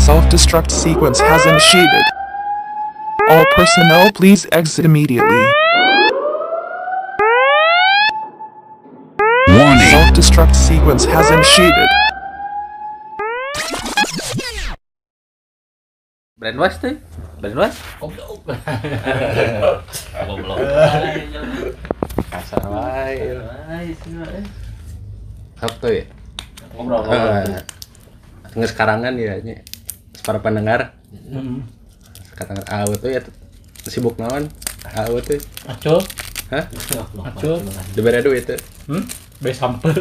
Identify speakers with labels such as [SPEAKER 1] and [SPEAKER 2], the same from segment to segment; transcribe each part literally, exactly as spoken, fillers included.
[SPEAKER 1] Self-destruct sequence has initiated. All personnel please exit immediately.
[SPEAKER 2] Warning.
[SPEAKER 1] Self-destruct sequence has initiated.
[SPEAKER 3] Brainwash tuh, brainwash.
[SPEAKER 4] Goblok.
[SPEAKER 3] Kasar wae.
[SPEAKER 4] Ay, sih, eh.
[SPEAKER 3] Apa ya?
[SPEAKER 4] Ngobrol.
[SPEAKER 3] Eh, Nges karangan ya nya. Para pendengar.
[SPEAKER 4] Heeh.
[SPEAKER 3] Kata awet tuh ya sibuk naon? Awet tuh.
[SPEAKER 4] Acul,
[SPEAKER 3] Hah?
[SPEAKER 4] acul.
[SPEAKER 3] Dibere duit tuh.
[SPEAKER 4] Hmm? Be sampe.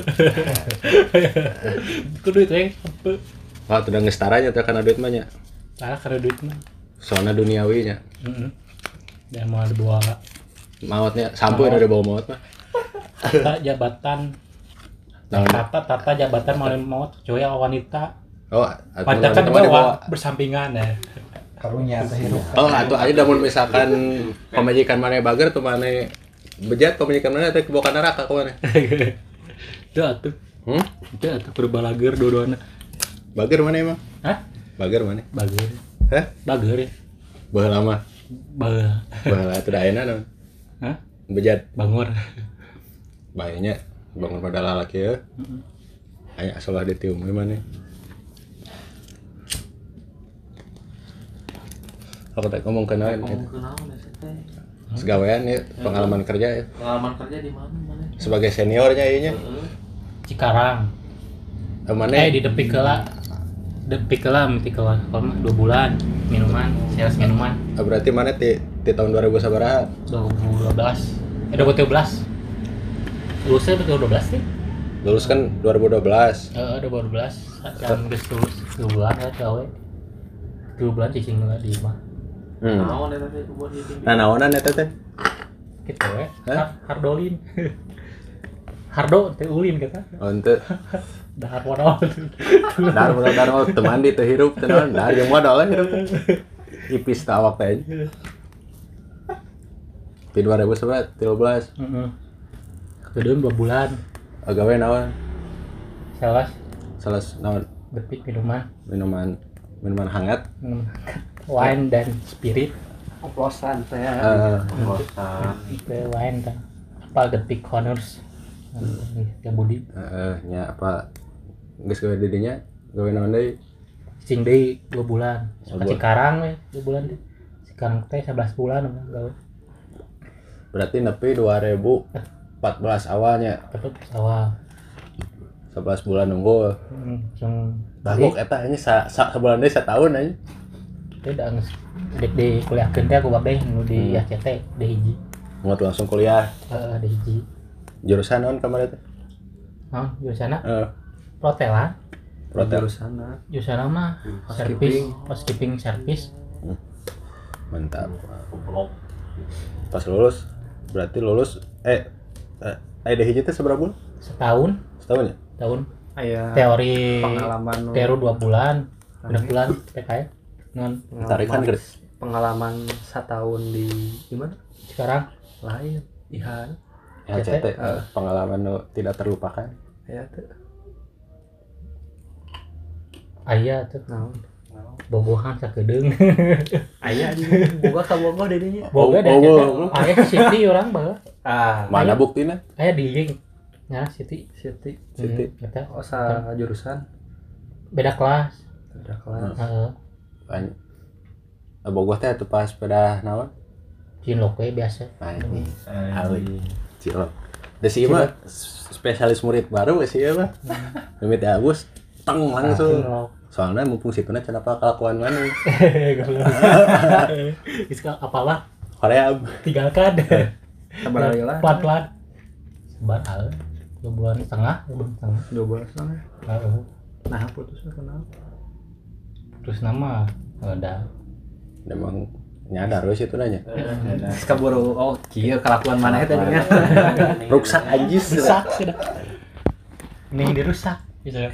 [SPEAKER 4] Kudu itu yang sampe.
[SPEAKER 3] Wah, udah ngestaranya tuh karena duit mah nya.
[SPEAKER 4] Tah karena duit mah.
[SPEAKER 3] Soalnya duniawi nya.
[SPEAKER 4] Heeh. Dan mau ada dua
[SPEAKER 3] Mautnya sampai udah bawa maut mah.
[SPEAKER 4] tata jabatan.
[SPEAKER 3] Naon?
[SPEAKER 4] Tata tata jabatan mau maut cuy wanita.
[SPEAKER 3] Oh, atuh
[SPEAKER 4] Wanita kan
[SPEAKER 3] mah
[SPEAKER 4] bawa bersampingan ya.
[SPEAKER 5] Karunya kehidupan.
[SPEAKER 3] Oh, atuh aja da mun misalkan pamajikan mana bager tuh mana bejat pamajikan mana teh kebawa ka neraka ka mana.
[SPEAKER 4] Itu atuh.
[SPEAKER 3] Hmm?
[SPEAKER 4] Itu atuh berbalager dua-duana.
[SPEAKER 3] Bager mana emang?
[SPEAKER 4] Hah?
[SPEAKER 3] Bager mana?
[SPEAKER 4] Bager.
[SPEAKER 3] Hah?
[SPEAKER 4] Bager ya.
[SPEAKER 3] Baheula lama.
[SPEAKER 4] Baheula.
[SPEAKER 3] Baheula atuh da ayeuna naon?
[SPEAKER 4] Hah?
[SPEAKER 3] Bejat
[SPEAKER 4] Bangor.
[SPEAKER 3] bayinya bangun pada lalaki ya. Aya salah ditium we mana. Aku tak ngomong kenalin
[SPEAKER 6] Ngomong
[SPEAKER 3] gitu.
[SPEAKER 6] ke naon ya sih teh?
[SPEAKER 3] Segawean ya, pengalaman kerja ya.
[SPEAKER 6] Pengalaman kerja di mana mana?
[SPEAKER 3] Sebagai seniornya ieu nya.
[SPEAKER 6] Heeh.
[SPEAKER 4] Cikarang.
[SPEAKER 3] Eh mana?
[SPEAKER 4] Eh di Depik heula. Depik heula miti kelar mah dua bulan minuman, sales minuman
[SPEAKER 3] Ah, berarti mana ti ti tahun dua ribu sabaraha?
[SPEAKER 4] dua ribu dua belas. Eh dua ribu tiga belas. Lulusnya dua ribu dua belas sih.
[SPEAKER 3] Lulus kan dua ribu dua belas.
[SPEAKER 4] Heeh, dua ribu dua belas. Kan geus lulus dua bulan ya gawe. dua bulan cicing heula di imah.
[SPEAKER 3] Hmm.
[SPEAKER 6] Naon eta teh buat di
[SPEAKER 3] Nah, naonan eta teh?
[SPEAKER 4] Gitu we.
[SPEAKER 3] Hah?
[SPEAKER 4] Hardolin. Hardo teh ulin kata.
[SPEAKER 3] Oh, henteu.
[SPEAKER 4] Dahar modal.
[SPEAKER 3] Dar modal dar modal teu mandi teu hirup teu naon, dar jeung modal hirup. Ipis teh awak teh. Di dua ribu tiga belas.
[SPEAKER 4] Heeh. Kedeun dua bulan.
[SPEAKER 3] Gawe naon?
[SPEAKER 4] Sales
[SPEAKER 3] Salah naon?
[SPEAKER 4] Depik minuman.
[SPEAKER 3] Minuman minuman hangat.
[SPEAKER 4] minuman wine dan spirit.
[SPEAKER 5] Oplosan teh.
[SPEAKER 3] Eh,
[SPEAKER 6] kosan.
[SPEAKER 4] Itu wine kan. Apa Depik Honors. Ya Budi.
[SPEAKER 3] heeh nya apa geus gawe di dinya? Gawe naon deui?
[SPEAKER 4] Cing deui dua bulan.
[SPEAKER 3] Oh,
[SPEAKER 4] Ka Cikarang we dua bulan deh. Cikarang teh sebelas bulan gawe.
[SPEAKER 3] Berarti nepi dua ribu empat belas awalnya.
[SPEAKER 4] Tetep awal.
[SPEAKER 3] sebelas bulan nunggu.
[SPEAKER 4] Hmm, jeung
[SPEAKER 3] Bagok eta nya sa, sa sebulan deui satahun aja.
[SPEAKER 4] teh da geus dek di kuliahkeun teh aku babeh nu di
[SPEAKER 3] Hmm.
[SPEAKER 4] A C T di hiji.
[SPEAKER 3] Mau langsung kuliah.
[SPEAKER 4] Heeh, di hiji.
[SPEAKER 3] Jurusan naon kemarin teh?
[SPEAKER 4] Naon jurusanna?
[SPEAKER 3] Heeh.
[SPEAKER 4] Protelan.
[SPEAKER 3] Protel.
[SPEAKER 5] Sana.
[SPEAKER 4] Jurusanna mah service, housekeeping service.
[SPEAKER 3] Mantap. Pas lulus berarti lulus eh eh aya hiji teh seberapa bulan?
[SPEAKER 4] Setahun,
[SPEAKER 3] Setahun ya?
[SPEAKER 4] tahun
[SPEAKER 5] Aya
[SPEAKER 4] teori
[SPEAKER 5] pengalaman nu-
[SPEAKER 4] teori dua bulan, udah bulan P K ya. Non
[SPEAKER 3] Tarikan gede.
[SPEAKER 5] pengalaman setahun di gimana?
[SPEAKER 4] sekarang
[SPEAKER 5] Lain. Ihan.
[SPEAKER 3] H C T eh, pengalaman nu tidak terlupakan.
[SPEAKER 5] Ya teh.
[SPEAKER 4] aya tuh
[SPEAKER 5] Naon?
[SPEAKER 4] bobohan sakedeung.
[SPEAKER 5] Aya di boga ka boga di dinya.
[SPEAKER 4] Boga deh
[SPEAKER 3] Oh, oh,
[SPEAKER 4] aya Siti orang bae.
[SPEAKER 5] Ah,
[SPEAKER 3] Mana buktina?
[SPEAKER 4] Aya di jeung nya Siti.
[SPEAKER 5] Siti.
[SPEAKER 3] Siti.
[SPEAKER 4] Hmm, eta
[SPEAKER 5] Oh, sa jurusan
[SPEAKER 4] beda kelas.
[SPEAKER 5] udah kelas.
[SPEAKER 4] Heeh.
[SPEAKER 3] Banyak. Bogoh teh atuh pas pada naon?
[SPEAKER 4] Cinlok we biasa.
[SPEAKER 3] Anjing. Awi. Cilok. Da si mah spesialis murid baru we si mah. Mimit Agus teng langsung.
[SPEAKER 4] Cinlok.
[SPEAKER 3] Soalnya mumpung situna cenah apa kelakuan mana?
[SPEAKER 4] Goblok. Geus ka apalah
[SPEAKER 3] Korea.
[SPEAKER 4] tinggalkan.
[SPEAKER 5] Sabar heula.
[SPEAKER 4] Pelan-pelan. Sabar al. Dua bulan setengah, dua bulan setengah.
[SPEAKER 5] dua belas sana.
[SPEAKER 4] Heeh.
[SPEAKER 5] Nah, putusnya kenapa?
[SPEAKER 4] Terus nama ada
[SPEAKER 3] Memang nyadar we situ nanya.
[SPEAKER 5] Geus kaburu oh kieu kelakuan mana eta nya.
[SPEAKER 3] Ruksak anjis.
[SPEAKER 4] rusak sudah. Ini dirusak gitu ya.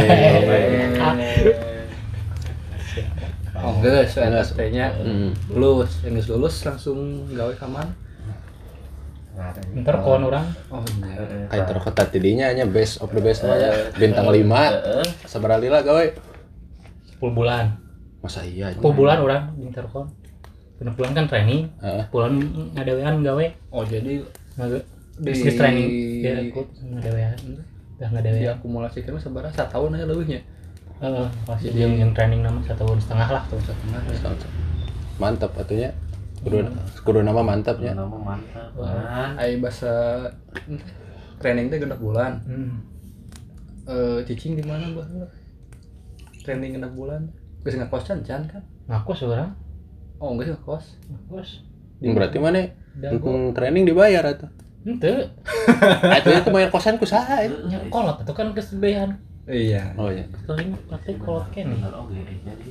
[SPEAKER 5] Oh, geus eta teh
[SPEAKER 3] Heeh.
[SPEAKER 5] lulus, geus lulus langsung gawe ka mana?
[SPEAKER 4] Ntar kawan orang
[SPEAKER 5] Oh, iya.
[SPEAKER 3] Kayak terkota tidinya nya best of the best aja. Bintang lima. Sabaraha lila gawe?
[SPEAKER 4] sepuluh bulan.
[SPEAKER 3] Masa iya?
[SPEAKER 4] sepuluh bulan orang di Intercom. Genep bulan kan training.
[SPEAKER 3] Heeh.
[SPEAKER 4] Bulan ngadewean gawe.
[SPEAKER 5] Oh jadi
[SPEAKER 4] Ngage
[SPEAKER 5] di
[SPEAKER 4] bisnis training dia ikut ngadewean. Udah ngadewean.
[SPEAKER 5] diakumulasikan mah sabaraha satahun aja leuwihnya.
[SPEAKER 4] Heeh, pasti yang yang training nama satu tahun setengah lah tuh setengah.
[SPEAKER 3] Mantap atunya. Kudu kudu nama mantapnya.
[SPEAKER 6] Nama mantap.
[SPEAKER 4] Wah.
[SPEAKER 5] Ai bahasa training teh genep bulan.
[SPEAKER 4] Hmm.
[SPEAKER 5] Eh cicing di mana Bah? Training genep bulan. Geus ngekos can can kan?
[SPEAKER 4] Ngaku seorang.
[SPEAKER 5] Oh, geus ngekos.
[SPEAKER 4] Ngaku.
[SPEAKER 3] Berarti mana?
[SPEAKER 4] Dago.
[SPEAKER 3] Untuk training dibayar atuh.
[SPEAKER 4] Henteu.
[SPEAKER 3] Atuh itu bayar kosan ku saha itu.
[SPEAKER 4] Nya kolot itu kan kesebehan.
[SPEAKER 5] Iya.
[SPEAKER 3] Oh iya.
[SPEAKER 4] Sering praktik kolot kene.
[SPEAKER 6] Bener oke jadi.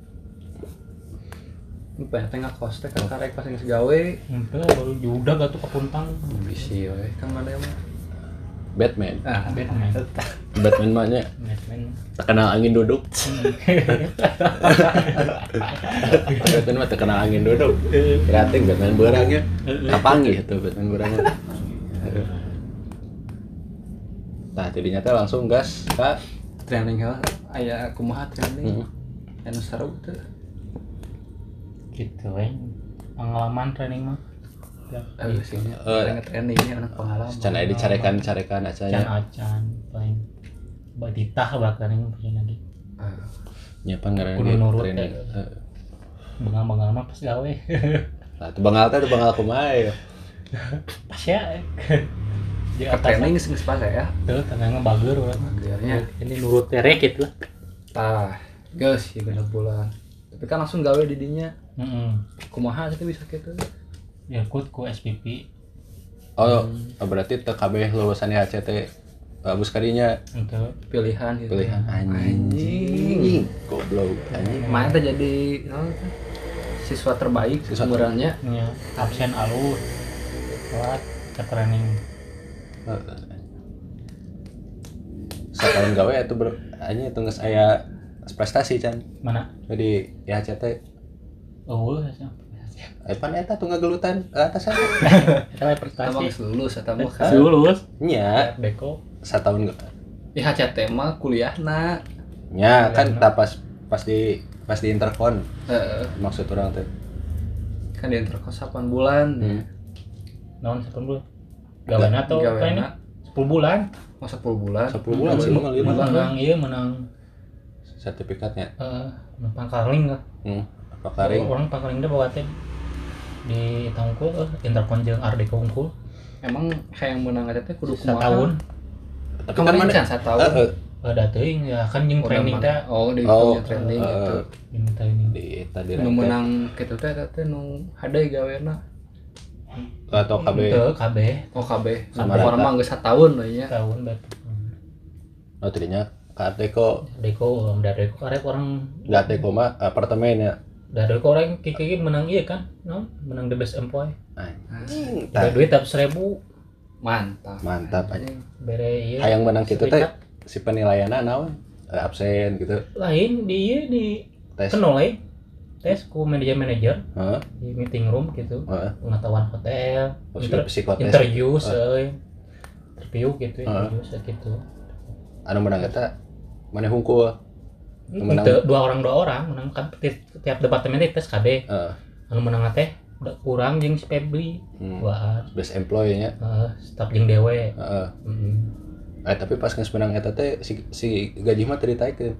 [SPEAKER 5] Upah teh ngekos teh kan karek pas geus gawe.
[SPEAKER 4] Henteu baru judag atuh kapuntang.
[SPEAKER 5] Bisi we. Kang mana mah?
[SPEAKER 3] Batman.
[SPEAKER 5] Ah,
[SPEAKER 4] Batman.
[SPEAKER 3] Batman mah nya
[SPEAKER 4] Batman.
[SPEAKER 3] terkenal angin duduk. Batman mah terkenal angin duduk. Kreatif Batman beurangnya. Kapanggih tuh Batman beurangnya. Nah, tidinya teh langsung gas ka
[SPEAKER 5] Training heula aya kumaha training.
[SPEAKER 3] hmm.
[SPEAKER 5] Anu seru teh.
[SPEAKER 4] Gitu we. Pengalaman training mah.
[SPEAKER 5] Eh sih nya.
[SPEAKER 3] Eh.
[SPEAKER 5] Trainingnya anak pengalaman.
[SPEAKER 3] Can aya dicarekan-carekan
[SPEAKER 4] Can
[SPEAKER 3] acanya.
[SPEAKER 4] acan paling batitah bakal yang punya lagi.
[SPEAKER 5] Ah.
[SPEAKER 3] Nya pangaran
[SPEAKER 4] Kudu nurut
[SPEAKER 3] training.
[SPEAKER 4] ya.
[SPEAKER 3] Heeh.
[SPEAKER 4] Bengal-bengal mah pas gawe.
[SPEAKER 3] Nah, teu bengal teh teu bengal kumaha ya.
[SPEAKER 4] Pas ya. Di
[SPEAKER 5] Ke training geus geus pas ya.
[SPEAKER 4] tuh tengahnya bager urang.
[SPEAKER 5] Bagernya.
[SPEAKER 4] Ini nurut terek gitu lah.
[SPEAKER 5] Tah, geus ya genep bulan. Tapi kan langsung gawe di dinya.
[SPEAKER 4] Heeh.
[SPEAKER 5] Kumaha sih bisa kitu?
[SPEAKER 4] Ya ikut ku S P P
[SPEAKER 3] Oh, berarti teu kabeh lulusan I H C T bagus kadinya
[SPEAKER 4] untuk
[SPEAKER 5] Pilihan gitu.
[SPEAKER 3] pilihan anjing. Goblok anjing.
[SPEAKER 5] Main teh jadi oh, siswa terbaik
[SPEAKER 3] Siswa
[SPEAKER 5] sebenarnya.
[SPEAKER 4] ya, absen alus telat ke training.
[SPEAKER 3] Setahun gawe itu bro, anjing itu geus aya prestasi can.
[SPEAKER 4] Mana?
[SPEAKER 3] Jadi I H C T
[SPEAKER 4] Oh, ya.
[SPEAKER 3] eh pan eta tunggal gelutan atas aja.
[SPEAKER 4] Kita
[SPEAKER 5] Eta
[SPEAKER 4] prestasi.
[SPEAKER 5] mah geus lulus eta mah kan.
[SPEAKER 4] Lulus.
[SPEAKER 3] Nya
[SPEAKER 4] Beko.
[SPEAKER 3] setahun
[SPEAKER 5] I H C T mah kuliahna.
[SPEAKER 3] nya kan tak pas pas di pas di interkon
[SPEAKER 5] Heeh.
[SPEAKER 3] maksud orang teh.
[SPEAKER 5] Kan di interkos delapan bulan.
[SPEAKER 3] Hmm.
[SPEAKER 4] Naon sepuluh bulan. Gawean atau
[SPEAKER 5] Gaweana.
[SPEAKER 4] apa ini? sepuluh bulan.
[SPEAKER 5] Oh sepuluh bulan.
[SPEAKER 3] sepuluh bulan sih mah lima
[SPEAKER 4] Menang iya menang
[SPEAKER 3] sertifikatnya.
[SPEAKER 4] eh pangkaling lah.
[SPEAKER 3] Hmm. Apa karing?
[SPEAKER 4] Orang pangkaling teh bawa teh di tangkul eh Interpon jeung Ardeko unggul
[SPEAKER 5] Emang hayang menang aja teh kudu kumaha?
[SPEAKER 4] setahun.
[SPEAKER 3] Tapi
[SPEAKER 5] Kemarin
[SPEAKER 3] mana-
[SPEAKER 5] kan setahun.
[SPEAKER 3] Heeh.
[SPEAKER 4] Ada teuing ya kan jeung
[SPEAKER 5] Udah
[SPEAKER 4] training
[SPEAKER 5] mana-
[SPEAKER 4] teh
[SPEAKER 5] Oh, di
[SPEAKER 3] Oh,
[SPEAKER 5] punya training
[SPEAKER 3] eh,
[SPEAKER 5] gitu.
[SPEAKER 4] diminta ini.
[SPEAKER 3] di tadi
[SPEAKER 5] Nu menang kitu teh eta teh nu hade gaweana.
[SPEAKER 3] atau K B
[SPEAKER 4] Teu K B
[SPEAKER 5] Oh K B.
[SPEAKER 3] Sama
[SPEAKER 5] Sama orang
[SPEAKER 3] rata.
[SPEAKER 5] mah geus sataun we nya.
[SPEAKER 4] tahun bet.
[SPEAKER 3] oh tadinya Kateko
[SPEAKER 4] Deko um, dari Deko karek orang
[SPEAKER 3] Gateko mah apartemen ya
[SPEAKER 4] dari Deko orang kiki menang iya kan? No, menang the best employee.
[SPEAKER 3] anjing
[SPEAKER 4] Ada
[SPEAKER 3] tah,
[SPEAKER 4] duit tapi seribu
[SPEAKER 5] Mantap.
[SPEAKER 3] mantap aja
[SPEAKER 4] bere iya.
[SPEAKER 3] hayang menang kitu teh
[SPEAKER 4] serikat.
[SPEAKER 3] si penilaianna naon Eh, absen gitu
[SPEAKER 4] Lain di iya di
[SPEAKER 3] tes
[SPEAKER 4] kenal lain tes ku manajer manajer
[SPEAKER 3] heeh
[SPEAKER 4] di meeting room gitu.
[SPEAKER 3] heeh
[SPEAKER 4] Pengetahuan hotel,
[SPEAKER 3] oh,
[SPEAKER 4] inter-
[SPEAKER 3] psikotes
[SPEAKER 4] interview,
[SPEAKER 3] Eh.
[SPEAKER 4] euy. Interview gitu,
[SPEAKER 3] Eh.
[SPEAKER 4] interview gitu.
[SPEAKER 3] anu menang eta maneh hungkul Menang.
[SPEAKER 4] Itu dua orang dua orang menang kan ti- tiap departemen itu tes K B.
[SPEAKER 3] heeh
[SPEAKER 4] Anu menang teh udah kurang jeung si Febri.
[SPEAKER 3] hmm.
[SPEAKER 4] Wah,
[SPEAKER 3] best employee nya
[SPEAKER 4] uh, staf jeung dewe.
[SPEAKER 3] heeh
[SPEAKER 4] Heeh.
[SPEAKER 3] eh tapi pas geus menang eta teh si, si gaji mah teu ditaikeun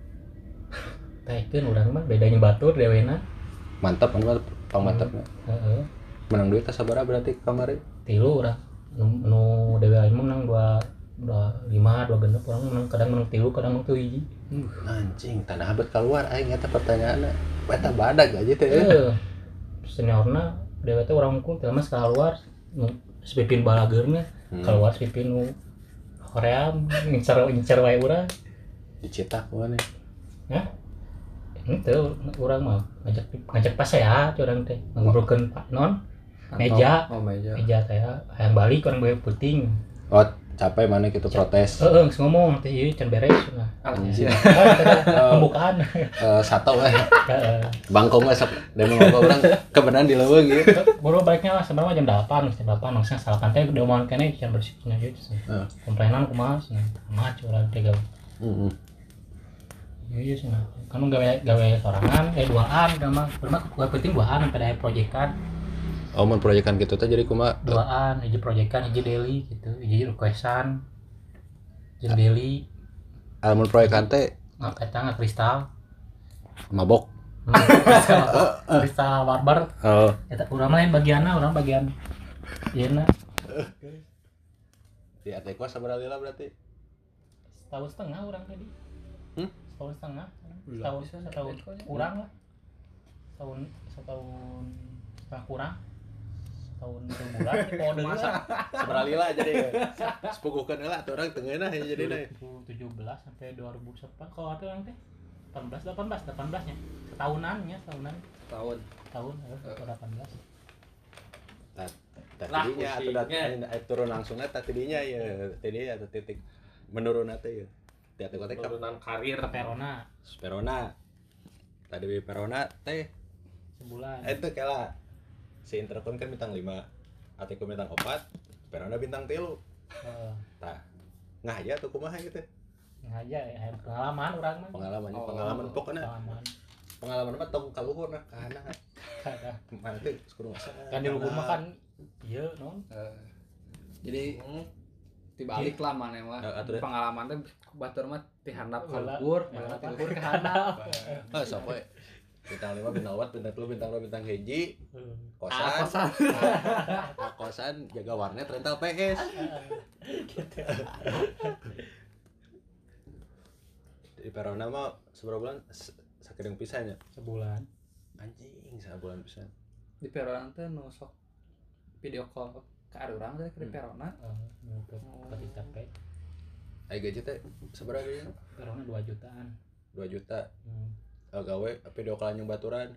[SPEAKER 4] Taikeun urang mah bedanya batur dewena.
[SPEAKER 3] mantap anu mah pang mantapna
[SPEAKER 4] Heeh.
[SPEAKER 3] menang duit teh sabaraha berarti kamari
[SPEAKER 4] Tilu urang. Nu, nu dewe aing menang dua dua lima dua genep orang menang kadang menang tilu kadang menang tujuh hiji.
[SPEAKER 3] anjing tanah abad keluar aing eta pertanyaanna eta badag aja teh
[SPEAKER 4] Heeh. Seniorna dewe teh urang unggul teh mah skala luar nu sepipin balageurna
[SPEAKER 3] Hmm.
[SPEAKER 4] keluar sepipin nu Korea ngincar ngincar wae urang.
[SPEAKER 3] dicetak mana
[SPEAKER 4] Ya. Itu urang mah ngajak ngajak pas ya urang teh ngobrolkeun non meja
[SPEAKER 5] Oh meja.
[SPEAKER 4] meja teh hayang balik orang bae puting.
[SPEAKER 3] oh capek mana gitu protes
[SPEAKER 4] Heeh, geus ngomong teh ieu can beres nah.
[SPEAKER 5] Anjir.
[SPEAKER 4] Pembukaan.
[SPEAKER 3] Eh, satu eh
[SPEAKER 4] Heeh.
[SPEAKER 3] bangkong mah sok demo ngobrol orang kebenaran di leuweung gitu
[SPEAKER 4] Baru baliknya lah sebenarnya jam delapan, jam delapan maksudnya salapan teh udah mau kene can bersihnya gitu sih.
[SPEAKER 3] Heeh.
[SPEAKER 4] Komplainan kumaha sih. Mah curang teh gawe.
[SPEAKER 3] heeh
[SPEAKER 4] Iya sih, kan gawe gawe sorangan, eh duaan, sama, cuma gue penting duaan sampai ada proyekan.
[SPEAKER 3] Oh, mun proyekan gitu teh jadi kumaha?
[SPEAKER 4] Duaan, hiji proyekan, hiji daily gitu, hiji requestan, hiji daily.
[SPEAKER 3] Almun proyekan teh
[SPEAKER 4] Nah, eta nggak kristal,
[SPEAKER 3] mabok.
[SPEAKER 4] Hmm, kristal, kristal barbar.
[SPEAKER 3] Oh.
[SPEAKER 4] Eta urang lain bagianna, urang bagian, iya na.
[SPEAKER 3] Di ate kos sabaraha lila berarti?
[SPEAKER 4] Setahun setengah urang tadi.
[SPEAKER 3] Hmm?
[SPEAKER 4] Setahun setengah,
[SPEAKER 5] Belum
[SPEAKER 4] setahun
[SPEAKER 5] bisa,
[SPEAKER 4] setahun
[SPEAKER 5] Bitcoin.
[SPEAKER 4] kurang lah. Setahun setahun setengah kurang. Setahun dua bulan kode masa
[SPEAKER 3] Sabaraha lila jadi sepuguhkeun heula atuh urang teu ngeunah ya jadi
[SPEAKER 4] dua ribu tujuh belas sampai dua ribu sepuluh kalau atuh orang teh delapan belas delapan belas delapan belas nya setahunan nya setahunan
[SPEAKER 5] Tahun.
[SPEAKER 4] tahun eh, delapan belas
[SPEAKER 3] Tah
[SPEAKER 6] Lah,
[SPEAKER 3] tidinya atuh
[SPEAKER 6] pusingnya.
[SPEAKER 3] dat turun langsung tah tidinya ya tidinya atuh titik menurun teh ya. Ti atuh kotek
[SPEAKER 6] Penurunan karir.
[SPEAKER 4] ke Verona
[SPEAKER 3] Perona. Tadi di Perona teh
[SPEAKER 4] sebulan
[SPEAKER 3] itu kela si Intercon kan bintang lima, Atiku bintang empat, Perona bintang tilu.
[SPEAKER 4] eh,
[SPEAKER 3] Tah ngah aja tuh kumaha gitu.
[SPEAKER 4] aja ya pengalaman orang mah
[SPEAKER 3] Pengalaman
[SPEAKER 5] Oh.
[SPEAKER 3] pengalaman pokoknya
[SPEAKER 4] pengalaman
[SPEAKER 3] pengalaman mah tong kaluhur nah kana
[SPEAKER 4] kada
[SPEAKER 3] mana teh kudu masa.
[SPEAKER 4] kan di luhur mah kan iya non
[SPEAKER 5] Eh, jadi dibalik lah mana mah
[SPEAKER 3] Eh, atuh deh.
[SPEAKER 5] pengalaman teh batur mah tihandap ka
[SPEAKER 4] Heula.
[SPEAKER 5] luhur,
[SPEAKER 4] Heula.
[SPEAKER 5] mana ti luhur ka handap.
[SPEAKER 3] Ah sok we. Bintang lima, bintang empat, bintang tilu, bintang dua, bintang hiji,
[SPEAKER 4] Eh,
[SPEAKER 3] kosan,
[SPEAKER 5] Ah, kosan.
[SPEAKER 3] ah, kosan jaga warnet rental P S.
[SPEAKER 4] gitu
[SPEAKER 3] Di Perona mah seberapa bulan S- sakedeng pisannya.
[SPEAKER 4] sebulan
[SPEAKER 3] Anjing, sabulan pisan.
[SPEAKER 5] Di Perona teh nu sok video call ka urang teh di Perona.
[SPEAKER 4] eh, untuk kasih capek
[SPEAKER 3] Ai gaji teh seberapa dia?
[SPEAKER 4] Verona dua jutaan
[SPEAKER 3] dua juta.
[SPEAKER 4] hmm.
[SPEAKER 3] Oh, gawe video call anjing baturan.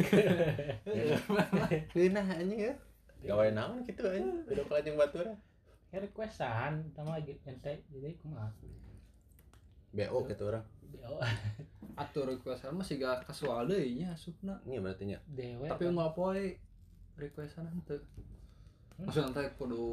[SPEAKER 3] Geunah anjing ya. Gawe naon kitu anjing, video call anjing baturan.
[SPEAKER 4] Ya requestan sama lagi ente jadi kumaha
[SPEAKER 3] B O gitu orang.
[SPEAKER 4] oh
[SPEAKER 5] Atur requestan mah siga kasual deui nya asupna.
[SPEAKER 3] Ini berarti nya.
[SPEAKER 4] dewe
[SPEAKER 5] Tapi unggal poe requestan henteu. Maksudna teh kudu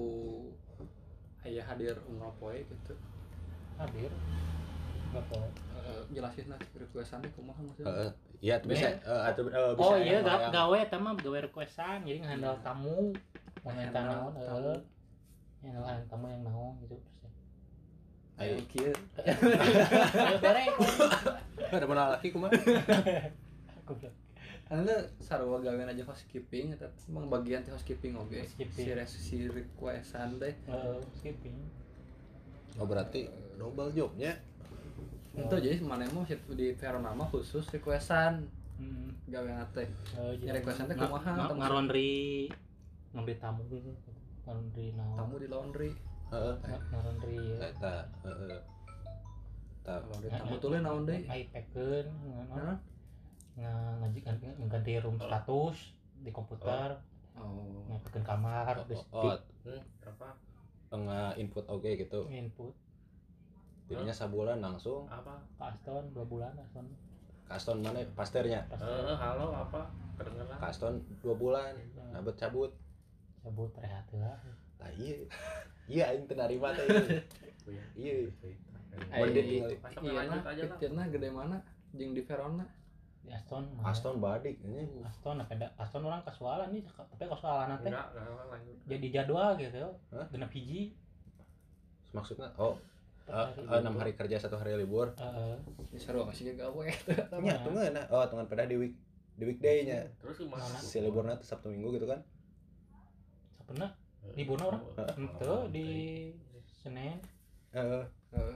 [SPEAKER 5] aya hadir unggal poe gitu.
[SPEAKER 4] hadir nggak boleh
[SPEAKER 5] Eh, jelasin lah requestan teh kumaha maksudnya.
[SPEAKER 3] Heeh. Iya, tuh bisa eh atuh eh, bisa.
[SPEAKER 4] oh iya
[SPEAKER 3] yang-
[SPEAKER 4] ga,
[SPEAKER 3] yang-
[SPEAKER 4] gawe eta mah gawe requestan jadi ngehandle tamu mau nyata
[SPEAKER 5] Handle
[SPEAKER 4] naon
[SPEAKER 5] tamu.
[SPEAKER 4] heeh yang handle tamu yang naon gitu terus ya
[SPEAKER 3] Ayo.
[SPEAKER 5] Ayo kieu.
[SPEAKER 4] ayo bere
[SPEAKER 3] Ada mana laki kumaha?
[SPEAKER 4] aku bilang
[SPEAKER 5] Anda sarua gawean aja housekeeping eta emang bagian teh housekeeping oge.
[SPEAKER 4] Housekeeping.
[SPEAKER 5] Si res- si requestan teh
[SPEAKER 4] eh, skipping
[SPEAKER 3] Oh, berarti double jobnya.
[SPEAKER 5] Itu jadi mana mah di Verona mah khusus requestan
[SPEAKER 4] hmm.
[SPEAKER 5] gawean teh.
[SPEAKER 4] eh,
[SPEAKER 5] Ya, requestan teh
[SPEAKER 4] nga-
[SPEAKER 5] kumaha,
[SPEAKER 4] nga-
[SPEAKER 5] tamu-
[SPEAKER 4] ngarondri ngambil tamu ngarondri naon
[SPEAKER 5] Tamu di laundry.
[SPEAKER 3] Heeh.
[SPEAKER 4] Nga- ngarondri
[SPEAKER 3] Eta heeh. Tah
[SPEAKER 5] Kalau di tamu tuh naon deui?
[SPEAKER 4] iPad-keun
[SPEAKER 5] Naon?
[SPEAKER 4] ngajikan ganti room status di komputer
[SPEAKER 5] Oh.
[SPEAKER 4] ngapain kamar terus
[SPEAKER 3] oh,
[SPEAKER 6] Hmm, apa?
[SPEAKER 3] tengah input oke gitu.
[SPEAKER 4] di input
[SPEAKER 3] Jadinya sabulan langsung
[SPEAKER 6] Apa?
[SPEAKER 4] Pak Aston dua bulan Aston
[SPEAKER 3] Kaston mana pasternya.
[SPEAKER 6] Eh, halo apa? Kedengeran?
[SPEAKER 3] Kaston dua bulan. Nabet cabut.
[SPEAKER 4] cabut rehat lah
[SPEAKER 3] Tah iya. Iya aing teu narima teh. Iya.
[SPEAKER 5] Ai
[SPEAKER 3] Mending tinggal-
[SPEAKER 6] Masa
[SPEAKER 5] iya
[SPEAKER 6] lanjut
[SPEAKER 5] nah,
[SPEAKER 6] aja lah.
[SPEAKER 5] pikirna gede mana jeung di Verona.
[SPEAKER 4] di Aston mah.
[SPEAKER 3] Aston badik ini.
[SPEAKER 4] Aston apa da- Aston orang kasualan nih tapi kasualan nanti
[SPEAKER 6] Enggak, enggak lanjut.
[SPEAKER 4] jadi jadwal gitu
[SPEAKER 3] Hah?
[SPEAKER 4] genep hiji
[SPEAKER 3] Maksudnya oh
[SPEAKER 4] per
[SPEAKER 3] eh,
[SPEAKER 4] hari.
[SPEAKER 3] eh, enam hari kerja satu hari libur.
[SPEAKER 4] Heeh.
[SPEAKER 5] Ini sarua kasih gawe.
[SPEAKER 3] Nya tuh ngeuna. Oh, tungan pada di week di weekday-nya.
[SPEAKER 6] Terus gimana?
[SPEAKER 4] Mana?
[SPEAKER 3] Si liburna tuh Sabtu Minggu gitu kan.
[SPEAKER 4] Sabeuna liburna orang ente di Senin
[SPEAKER 3] Heeh.
[SPEAKER 5] Heeh.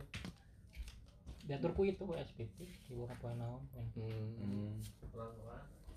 [SPEAKER 4] diatur ku itu S P P libur poe naon poe.
[SPEAKER 5] Hmm.
[SPEAKER 3] Hmm.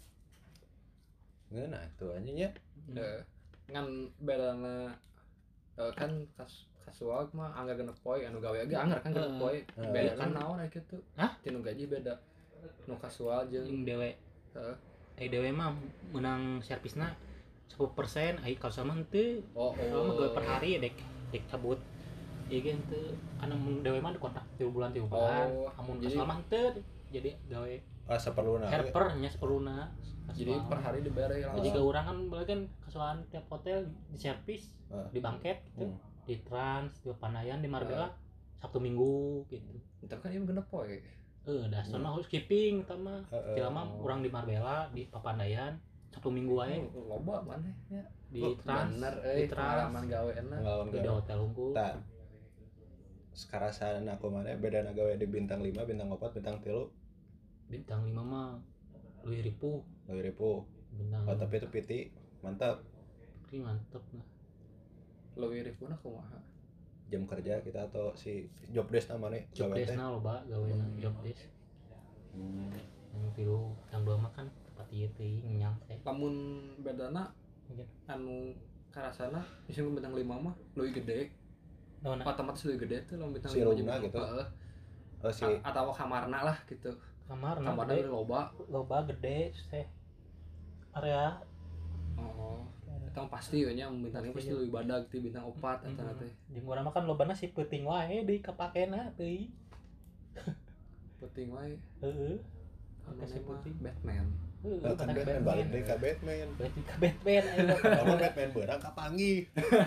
[SPEAKER 3] Ngeuna tuh anjing nya.
[SPEAKER 5] Eh, ngan bedana eh, kan kas kasual mah angga genep poe anu gawe ge anggar kan genep poe.
[SPEAKER 3] Heeh.
[SPEAKER 5] Beda kan naon aya kitu.
[SPEAKER 4] Hah?
[SPEAKER 5] Tinu gaji beda. Nu kasual jeung
[SPEAKER 4] Jeung dewe
[SPEAKER 5] heeh.
[SPEAKER 4] ai dewe mah menang servisna sepuluh persen ai kalau sama henteu
[SPEAKER 5] Oh,
[SPEAKER 4] kalau mah gawe per hari dek dek cabut ieu ge henteu anu mun dewe mah dikontak tiga bulan tiga bulan
[SPEAKER 5] Oh,
[SPEAKER 4] amun
[SPEAKER 5] jadi-
[SPEAKER 4] kasal mah henteu jadi gawe
[SPEAKER 3] Ah saperluna.
[SPEAKER 4] helper nya seperluna
[SPEAKER 5] Jadi per hari dibere
[SPEAKER 4] jadi
[SPEAKER 5] langsung.
[SPEAKER 4] ke urang kan boleh kan kasualan tiap hotel di servis
[SPEAKER 3] Ah.
[SPEAKER 4] di bangket gitu
[SPEAKER 3] Hmm.
[SPEAKER 4] di Trans di Panayan di Marbella Sabtu Minggu gitu
[SPEAKER 5] Tapi kan ieu genep poe.
[SPEAKER 4] Eh, dah sono housekeeping tama.
[SPEAKER 3] Heeh.
[SPEAKER 4] Jelema urang di Marbella di Papandayan Sabtu Minggu wae
[SPEAKER 5] Oh, loba maneh ya.
[SPEAKER 4] di
[SPEAKER 3] Oh,
[SPEAKER 4] Trans,
[SPEAKER 5] Bener
[SPEAKER 4] di
[SPEAKER 5] euy
[SPEAKER 4] Trans,
[SPEAKER 5] pengalaman gaweana.
[SPEAKER 3] Pengalaman
[SPEAKER 4] di
[SPEAKER 3] gawe.
[SPEAKER 4] hotel unggul.
[SPEAKER 3] Tah. Sekarasan aku mana bedana gawe di bintang lima, bintang empat, bintang tiga,
[SPEAKER 4] Bintang lima mah Luih Ripu,
[SPEAKER 3] lebih ribu.
[SPEAKER 4] bintang
[SPEAKER 3] Oh, tapi itu piti mantap.
[SPEAKER 4] Ini mantep lah.
[SPEAKER 5] Leuwih rifuna kumaha?
[SPEAKER 3] Jam kerja kita atau si job desk namanya
[SPEAKER 4] Job
[SPEAKER 3] gawe teh.
[SPEAKER 4] desk na loba gaweana job desk.
[SPEAKER 3] Hmm.
[SPEAKER 4] Yang tilu, yang dua mah kan tempat ieu teuing nyang teh.
[SPEAKER 5] Lamun bedana
[SPEAKER 4] Mungkin.
[SPEAKER 5] anu karasana misalnya bintang lima mah leuwih gede.
[SPEAKER 4] Naon?
[SPEAKER 5] Otomatis leuwih gede tuh lamun bintang
[SPEAKER 3] Si
[SPEAKER 5] lima
[SPEAKER 3] roomna
[SPEAKER 5] jeung-
[SPEAKER 3] gitu.
[SPEAKER 5] Heeh.
[SPEAKER 3] Oh si
[SPEAKER 5] A- atau kamarna lah gitu.
[SPEAKER 4] Kamar na
[SPEAKER 5] Kamarna
[SPEAKER 4] gede,
[SPEAKER 5] leuwih loba.
[SPEAKER 4] loba gede teh. Area
[SPEAKER 5] Oh. Eta mah pasti we nya bintang lima pasti leuwih badag ti bintang opat eta
[SPEAKER 4] Mm-mm.
[SPEAKER 5] teh.
[SPEAKER 4] Di urang mah kan lobana si peuting wae deui kapakena teuing.
[SPEAKER 5] Penting wae.
[SPEAKER 4] Heeh.
[SPEAKER 5] Anu
[SPEAKER 4] Kasih
[SPEAKER 5] mah
[SPEAKER 4] putih.
[SPEAKER 5] Batman.
[SPEAKER 4] Heeh,
[SPEAKER 3] kan
[SPEAKER 4] kan
[SPEAKER 3] Batman balik deui ka Batman.
[SPEAKER 4] Berarti ke Batman ayo.
[SPEAKER 3] Kamu Batman beurang ka panggih.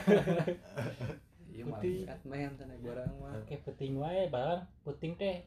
[SPEAKER 5] Iya mah
[SPEAKER 4] Putih.
[SPEAKER 5] Batman teh barang mah.
[SPEAKER 4] Oke puting wae barang puting teh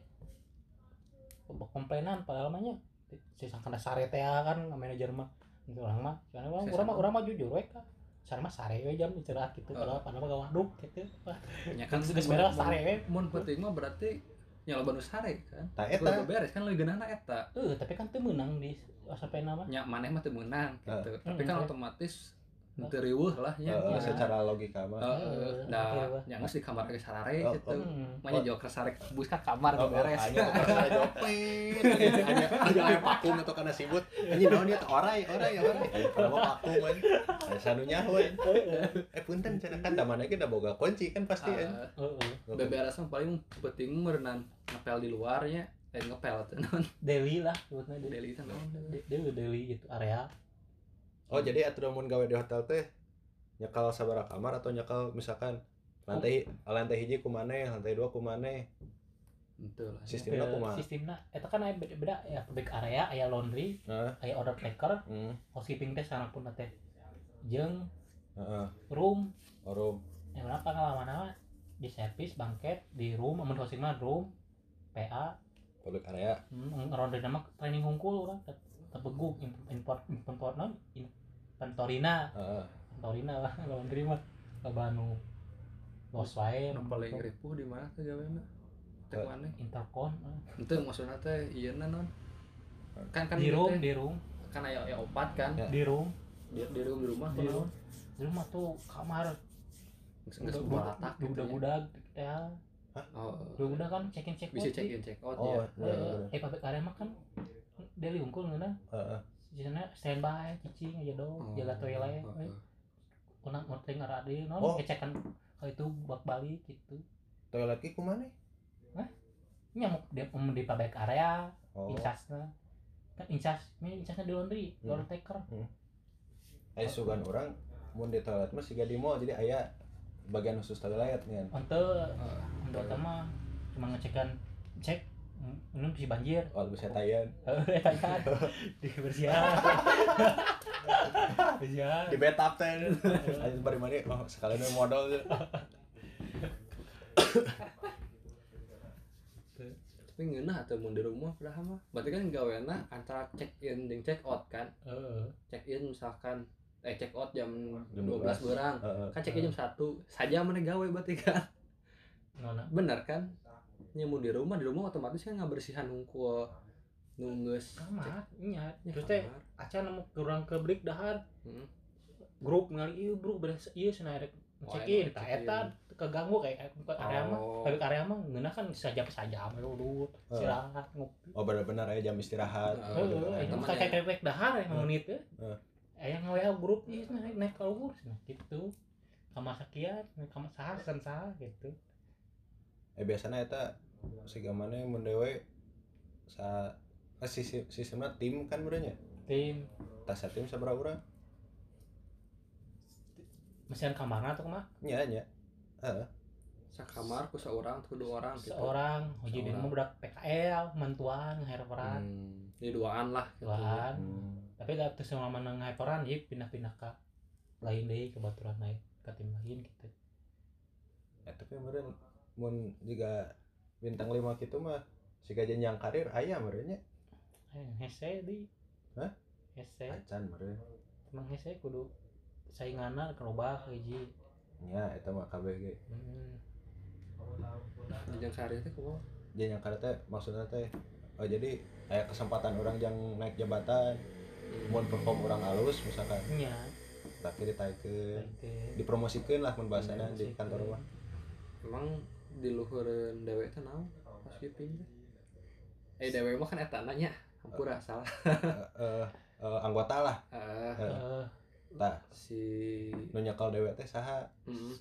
[SPEAKER 4] komplainan padahal mah nya si sangkana sare teh kan manajer mah itu orang mah soalnya urang urang mah urang mah jujur we ka sare mah sare we jam istirahat gitu padahal padahal mah gawaduk gitu wah
[SPEAKER 5] Ya kan
[SPEAKER 4] geus beres sare we
[SPEAKER 5] mun penting mah berarti nya loba nu sare kan.
[SPEAKER 3] Tah eta.
[SPEAKER 5] Udah beres kan leuwih geunahna eta.
[SPEAKER 4] eh tapi kan teu meunang di sampai nama
[SPEAKER 5] Nya maneh mah teu meunang gitu.
[SPEAKER 3] Heeh.
[SPEAKER 5] Tapi
[SPEAKER 4] Hmm,
[SPEAKER 5] kan
[SPEAKER 4] oke.
[SPEAKER 5] otomatis teu riweuh lah nya.
[SPEAKER 3] Heeh,
[SPEAKER 4] Iya.
[SPEAKER 3] secara logika mah.
[SPEAKER 5] Heeh.
[SPEAKER 4] Heeh,
[SPEAKER 5] Nah,
[SPEAKER 4] oke,
[SPEAKER 5] nya geus di kamar ge sarare
[SPEAKER 3] Oh,
[SPEAKER 5] gitu.
[SPEAKER 4] hmm.
[SPEAKER 5] Manya joker sare bus ka kamar
[SPEAKER 3] Oh,
[SPEAKER 5] beres.
[SPEAKER 3] hanya karena jopet. Hanya hanya aya vakum atau karena sibut. Anjing naon ieu teh orai, orai, orai. Kalau mau vakum kan. Aya sanunya we. Eh punten cenah kan da mana ge da boga kunci kan pasti kan.
[SPEAKER 5] Heeh.
[SPEAKER 4] Heeh.
[SPEAKER 5] Beberes mah paling penting merenang ngepel di luarnya. Eh ngepel teh naon?
[SPEAKER 4] Deli lah sebutna deli
[SPEAKER 5] Deli teh naon?
[SPEAKER 4] De- deli deli gitu area
[SPEAKER 3] Oh, jadi atuh mun gawe di hotel teh nyekal sabaraha kamar atau nyekal misalkan lantai lantai hiji ku maneh, lantai dua ku maneh.
[SPEAKER 5] Henteu lah.
[SPEAKER 3] Sistemna kumaha?
[SPEAKER 4] sistemna eta kan aya beda-beda ya back area aya laundry
[SPEAKER 3] Heeh.
[SPEAKER 4] aya order taker
[SPEAKER 3] Hmm.
[SPEAKER 4] housekeeping teh sanapun teh jeung
[SPEAKER 3] Heeh.
[SPEAKER 4] room
[SPEAKER 3] Orum.
[SPEAKER 4] yang mana pengalaman di servis bangket di room amun hosting mah room P A
[SPEAKER 3] Public area.
[SPEAKER 4] hmm, ronde nama training hungkul urang tebeguk import import non inventorina
[SPEAKER 3] Heeh.
[SPEAKER 4] inventorina lah laundry mah loba nu los wae
[SPEAKER 5] Nu paling ripuh di mana teh gaweana? Teh
[SPEAKER 3] Eh.
[SPEAKER 5] maneh.
[SPEAKER 4] intercon eh.
[SPEAKER 5] Henteu maksudna teh ieu na non. Kan kan
[SPEAKER 4] di
[SPEAKER 5] ieu
[SPEAKER 4] room
[SPEAKER 5] teh
[SPEAKER 4] di room
[SPEAKER 5] kan aya aya opat kan.
[SPEAKER 3] Ya.
[SPEAKER 4] di room
[SPEAKER 5] Di di room di rumah
[SPEAKER 4] di
[SPEAKER 5] tuh
[SPEAKER 4] room di rumah tuh kamar
[SPEAKER 5] geus geus balatak gitu. ya.
[SPEAKER 4] budak-budak ya
[SPEAKER 5] Oh.
[SPEAKER 4] budak kan check in check
[SPEAKER 5] Bisa
[SPEAKER 4] out
[SPEAKER 5] check
[SPEAKER 4] sih.
[SPEAKER 5] in check out
[SPEAKER 3] Oh,
[SPEAKER 5] ya.
[SPEAKER 3] iya, iya.
[SPEAKER 4] eh pabrik area mah kan deli unggul ngeuna
[SPEAKER 3] Heeh.
[SPEAKER 4] di sana standby cicing aja dong
[SPEAKER 5] Oh.
[SPEAKER 4] jaga toilet
[SPEAKER 5] Oh,
[SPEAKER 4] we
[SPEAKER 5] oh.
[SPEAKER 4] unang urang ngarade non
[SPEAKER 3] Oh.
[SPEAKER 4] ngecekan kalau itu bak balik gitu
[SPEAKER 3] Toilet ki ku maneh?
[SPEAKER 4] nyamuk di, um, di pabrik area
[SPEAKER 3] Oh.
[SPEAKER 4] incasna kan incas ini incasna di laundry
[SPEAKER 3] Hmm.
[SPEAKER 4] laundry taker
[SPEAKER 3] Aya sugan urang mun di toilet mah siga di mall jadi aya bagian khusus toilet kan.
[SPEAKER 4] untuk untuk mah cuma ngecekan cek minum si banjir
[SPEAKER 3] Oh, bisa tayan.
[SPEAKER 4] eh kan di bersihan bersihan
[SPEAKER 3] Di bathtub teh. Ayo bari mari oh sekalian we modal.
[SPEAKER 5] Tapi ngeunah atuh mun di rumah padahal mah. Berarti kan gaweana antara check in jeung check out kan.
[SPEAKER 4] eh
[SPEAKER 5] Check in misalkan eh check out jam
[SPEAKER 3] Jam
[SPEAKER 5] dua belas
[SPEAKER 3] dua belas.
[SPEAKER 5] beurang.
[SPEAKER 3] Heeh.
[SPEAKER 5] Kan check in jam satu. Saja mana gawe berarti kan.
[SPEAKER 4] nona
[SPEAKER 5] Bener kan? Nya mun di rumah di rumah otomatis kan ngabersihan hungkul nu geus
[SPEAKER 4] kamar nya
[SPEAKER 5] Ya,
[SPEAKER 4] terus teh
[SPEAKER 5] kamar.
[SPEAKER 4] acan nemu kurang ke break dahar
[SPEAKER 5] Heeh.
[SPEAKER 4] grup ngali ieu bro beres ieu cenah rek
[SPEAKER 5] Oh,
[SPEAKER 4] check in
[SPEAKER 5] emang
[SPEAKER 4] tah
[SPEAKER 5] check in.
[SPEAKER 4] eta keganggu kayak ke area mah
[SPEAKER 5] Oh.
[SPEAKER 4] pabrik area mah ngeunah kan saja saja mah udut
[SPEAKER 3] Oh.
[SPEAKER 4] istirahat ngopi
[SPEAKER 3] Oh bener-bener aya jam istirahat.
[SPEAKER 5] Heeh.
[SPEAKER 4] heeh
[SPEAKER 5] bener.
[SPEAKER 4] itu
[SPEAKER 5] Temen
[SPEAKER 4] kayak
[SPEAKER 5] ya.
[SPEAKER 4] kayak break dahar ya menit teh
[SPEAKER 3] Heeh.
[SPEAKER 4] aya ngawe grup ieu cenah naik naik ka luhur cenah gitu kamar sakian kamar saha san saha gitu
[SPEAKER 3] Eh biasana eta siga maneh mun dewe sa eh, sisi sistemna tim kan berenya.
[SPEAKER 4] tim
[SPEAKER 3] Tas tim sabaraha urang?
[SPEAKER 4] mesin kamarna tuh mah
[SPEAKER 3] Nya nya. Heeh.
[SPEAKER 5] Sakamar ku seorang atau dua orang gitu.
[SPEAKER 4] seorang hiji dia
[SPEAKER 5] Seorang.
[SPEAKER 4] mah budak P K L mantuan ngeheroran
[SPEAKER 5] Hmm, jadi duaan lah gitu.
[SPEAKER 4] tuan
[SPEAKER 3] Hmm.
[SPEAKER 4] tapi da teu selama ngeheroran jadi pindah-pindah ka lain deui ke baturan naik ka tim lain gitu
[SPEAKER 3] Ya tapi meureun mun juga bintang lima gitu mah siga jenjang karir aya meureun nya.
[SPEAKER 4] Eh, hese di.
[SPEAKER 3] Hah?
[SPEAKER 4] Hese.
[SPEAKER 3] Acan meureun.
[SPEAKER 4] Emang hese kudu sainganna kerobak hiji.
[SPEAKER 3] Nya eta mah K B G.
[SPEAKER 4] Hmm.
[SPEAKER 5] jenjang karir teh kumaha
[SPEAKER 3] Jenjang karir teh maksudna teh oh jadi aya kesempatan orang yang naik jabatan mun perform orang halus misalkan
[SPEAKER 4] Nya.
[SPEAKER 3] tapi ditaikeun
[SPEAKER 4] Teh.
[SPEAKER 3] dipromosikeun lah mun bahasana di kantor mah.
[SPEAKER 5] emang di luhureun dewe teh naon housekeeping teh eh dewe mah kan eta nanya hampura salah
[SPEAKER 3] Eh, eh, anggota lah
[SPEAKER 5] eh
[SPEAKER 4] Eh,
[SPEAKER 3] tah
[SPEAKER 5] si
[SPEAKER 3] nu nyekel dewe teh saha
[SPEAKER 5] heeh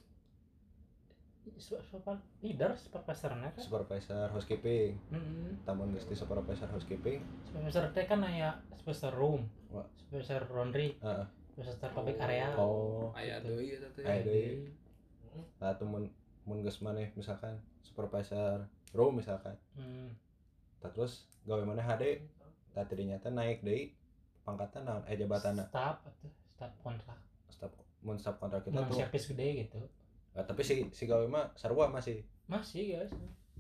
[SPEAKER 4] su- super leader supervisorna kan.
[SPEAKER 3] supervisor housekeeping
[SPEAKER 4] Heeh.
[SPEAKER 3] tamun geus di supervisor housekeeping
[SPEAKER 4] Supervisor teh kan aya supervisor room,
[SPEAKER 3] Wah.
[SPEAKER 4] supervisor laundry,
[SPEAKER 3] heeh
[SPEAKER 4] supervisor public area.
[SPEAKER 3] oh
[SPEAKER 5] aya deui eta teh
[SPEAKER 3] aya deui nah tuh mun mun geus maneh misalkan supervisor room misalkan
[SPEAKER 4] Hmm.
[SPEAKER 3] tah terus gawe maneh H D tah tidinya teh naik deui pangkatan naon eh jabatanna
[SPEAKER 4] Staff atuh, staff kontrak.
[SPEAKER 3] staf mun staf kontrak kita
[SPEAKER 4] Mun
[SPEAKER 3] tuh
[SPEAKER 4] service gede gitu.
[SPEAKER 3] ah, tapi si si gawe mah sarua masih
[SPEAKER 4] Masih guys.